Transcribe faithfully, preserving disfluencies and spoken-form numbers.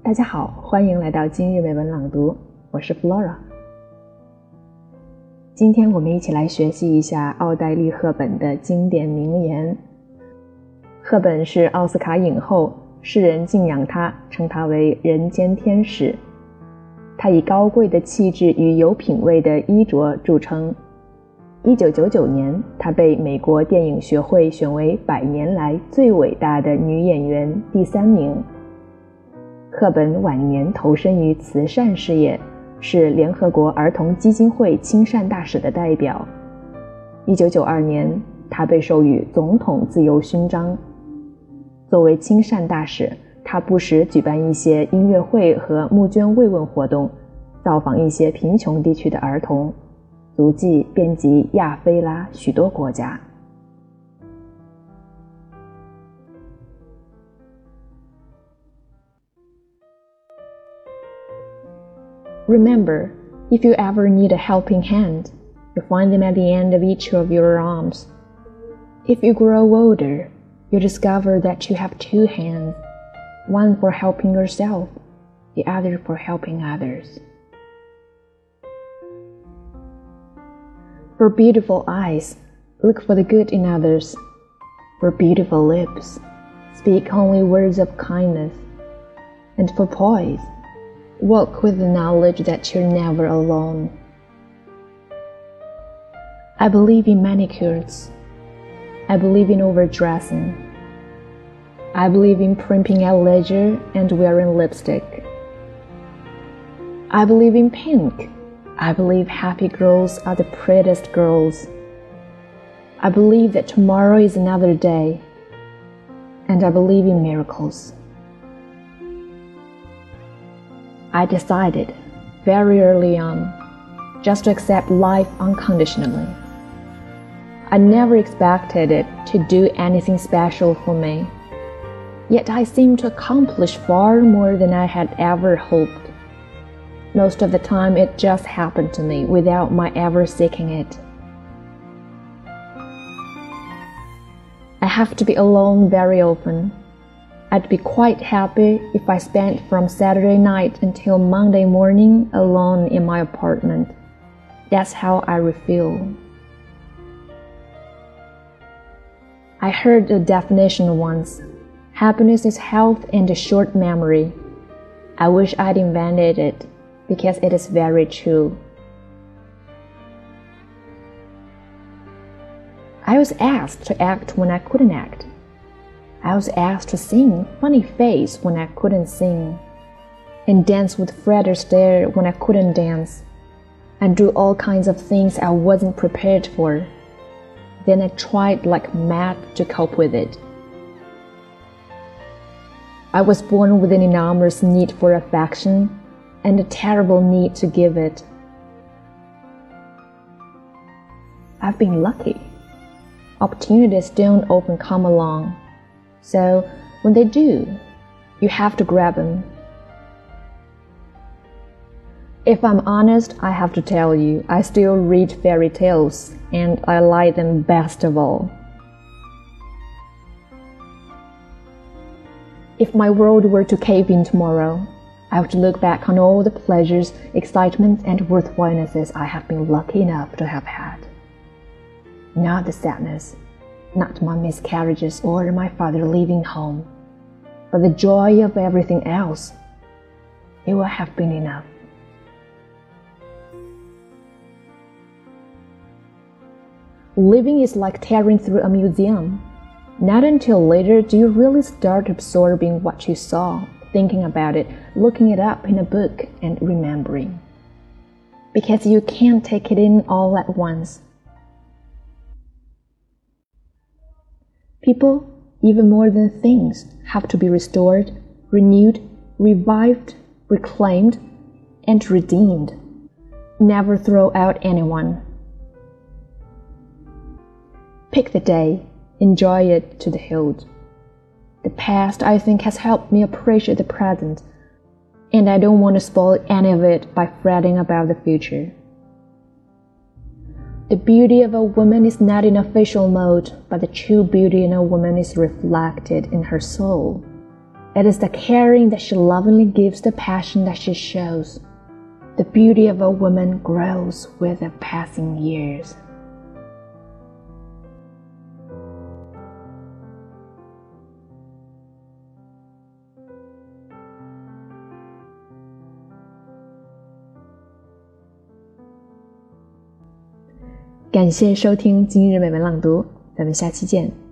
大家好，欢迎来到今日美文朗读，我是 Flora。 今天我们一起来学习一下奥黛丽·赫本的经典名言。赫本是奥斯卡影后，世人敬仰她，称她为人间天使。她以高贵的气质与有品位的衣着著称。一九九九年，她被美国电影学会选为百年来最伟大的女演员第三名。赫本晚年投身于慈善事业，是联合国儿童基金会亲善大使的代表。一九九二年，她被授予总统自由勋章。作为亲善大使，她不时举办一些音乐会和募捐慰问活动，造访一些贫穷地区的儿童，足迹遍及亚非拉许多国家。Remember, if you ever need a helping hand, you find them at the end of each of your arms. If you grow older, you discover that you have two hands, one for helping yourself, the other for helping others. For beautiful eyes, look for the good in others. For beautiful lips, speak only words of kindness. And for poise, walk with the knowledge that you're never alone. I believe in manicures. I believe in overdressing. I believe in primping at leisure and wearing lipstick. I believe in pink. I believe happy girls are the prettiest girls. I believe that tomorrow is another day. And I believe in miracles. I decided, very early on, just to accept life unconditionally. I never expected it to do anything special for me, yet I seemed to accomplish far more than I had ever hoped. Most of the time it just happened to me without my ever seeking it. I have to be alone very often. I'd be quite happy if I spent from Saturday night until Monday morning alone in my apartment. That's how I feel. I heard a definition once. Happiness is health and a short memory. I wish I'd invented it, because it is very true. I was asked to act when I couldn't act. I was asked to sing funny face when I couldn't sing, and dance with Fred Astaire when I couldn't dance, and do all kinds of things I wasn't prepared for. Then I tried like mad to cope with it. I was born with an enormous need for affection and a terrible need to give it. I've been lucky. Opportunities don't often come along. So, when they do, you have to grab them. If I'm honest, I have to tell you, I still read fairy tales, and I like them best of all. If my world were to cave in tomorrow, I would look back on all the pleasures, excitements, and worthwhilenesses I have been lucky enough to have had. Not the sadness, not my miscarriages or my father leaving home, but the joy of everything else. It will have been enough. Living is like tearing through a museum. Not until later do you really start absorbing what you saw, thinking about it, looking it up in a book, and remembering. Because you can't take it in all at once. People, even more than things, have to be restored, renewed, revived, reclaimed, and redeemed. Never throw out anyone. Pick the day, enjoy it to the hilt. The past, I think, has helped me appreciate the present, and I don't want to spoil any of it by fretting about the future. The beauty of a woman is not in official mode, but the true beauty in a woman is reflected in her soul. It is the caring that she lovingly gives, the passion that she shows. The beauty of a woman grows with the passing years. 感谢收听今日美文朗读，咱们下期见。